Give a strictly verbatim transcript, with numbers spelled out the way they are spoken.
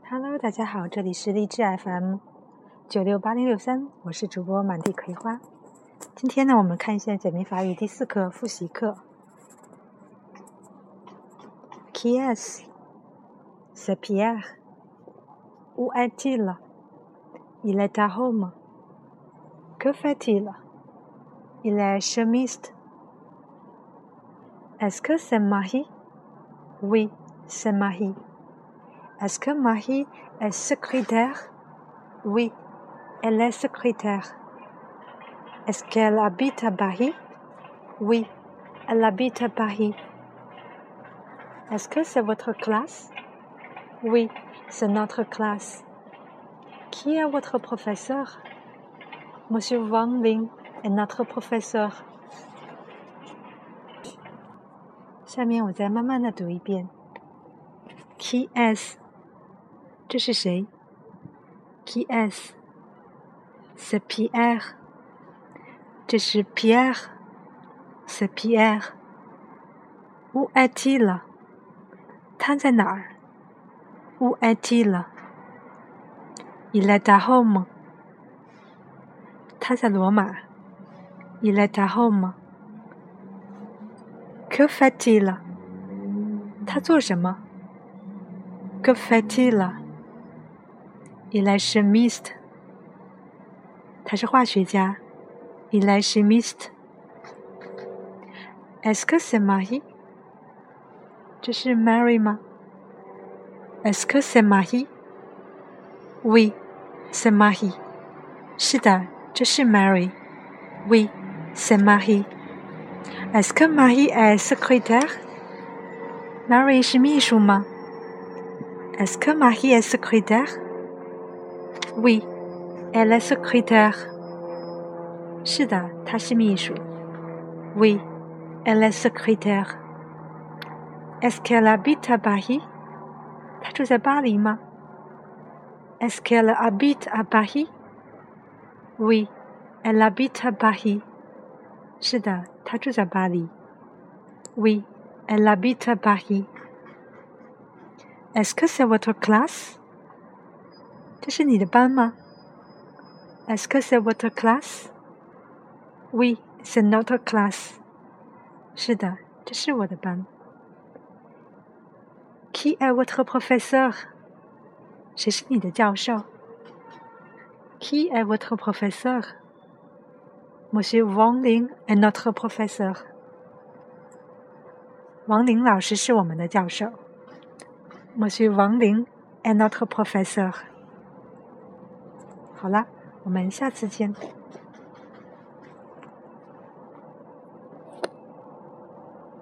Hello， 大家好，这里是励志 F M 九六八零六三，我是主播满地葵花。今天呢，我们看一下简明法语第四课复习课。Qui est-ce? C'est Pierre. Où est-il? Il est à Rome. Que fait-il? Il est chimiste. Est-ce que c'est Marie? Oui, c'est Marie. Est-ce que Marie est secrétaire? Oui, elle est secrétaire. Est-ce qu'elle habite à Paris? Oui, elle habite à Paris. Est-ce que c'est votre classe? Oui, c'est notre classe. Qui est votre professeur? Monsieur Wang Ling est notre professeur. 下面我再慢慢的读一遍。Qui est-ce? 这是谁？ Qui est-ce? C'est Pierre. 这是 Pierre. C'est Pierre. Où est-il? 他在哪儿？ Où est-il? Il est à Rome. 他在罗马。Il est à Rome. Que fait-il? 他做什么？ Que fait-il? Il est chimiste. 他是化学家。Il est chimiste. Est-ce que c'est Marie? 这是 Mary 吗？ Est-ce que c'est Marie? Oui, c'est Marie. 是的，这是 Mary. Oui, c'est Marie. Est-ce que Marie est secrétaire? Mary 是秘书吗？ Est-ce que Marie est secrétaire? Oui, elle est secrétaire. 是的，她是秘书。Oui, elle est secrétaire. Est-ce qu'elle habite à Paris? 她住在巴黎吗？ Est-ce qu'elle habite à Paris? Oui, elle habite à Paris. 是的，她住在巴黎。Oui, elle habite à Paris. Est-ce que c'est votre classe? 这是你的班吗？ Est-ce que c'est votre classe? Oui, c'est notre classe. 是的，这是我的班。Qui est votre professeur? 谁是你的教授？ Qui est votre professeur? Monsieur Wang Ling est notre professeur. 王林老师是我们的教授。Monsieur Wang Ling est notre professeur. 好了，我们下次见。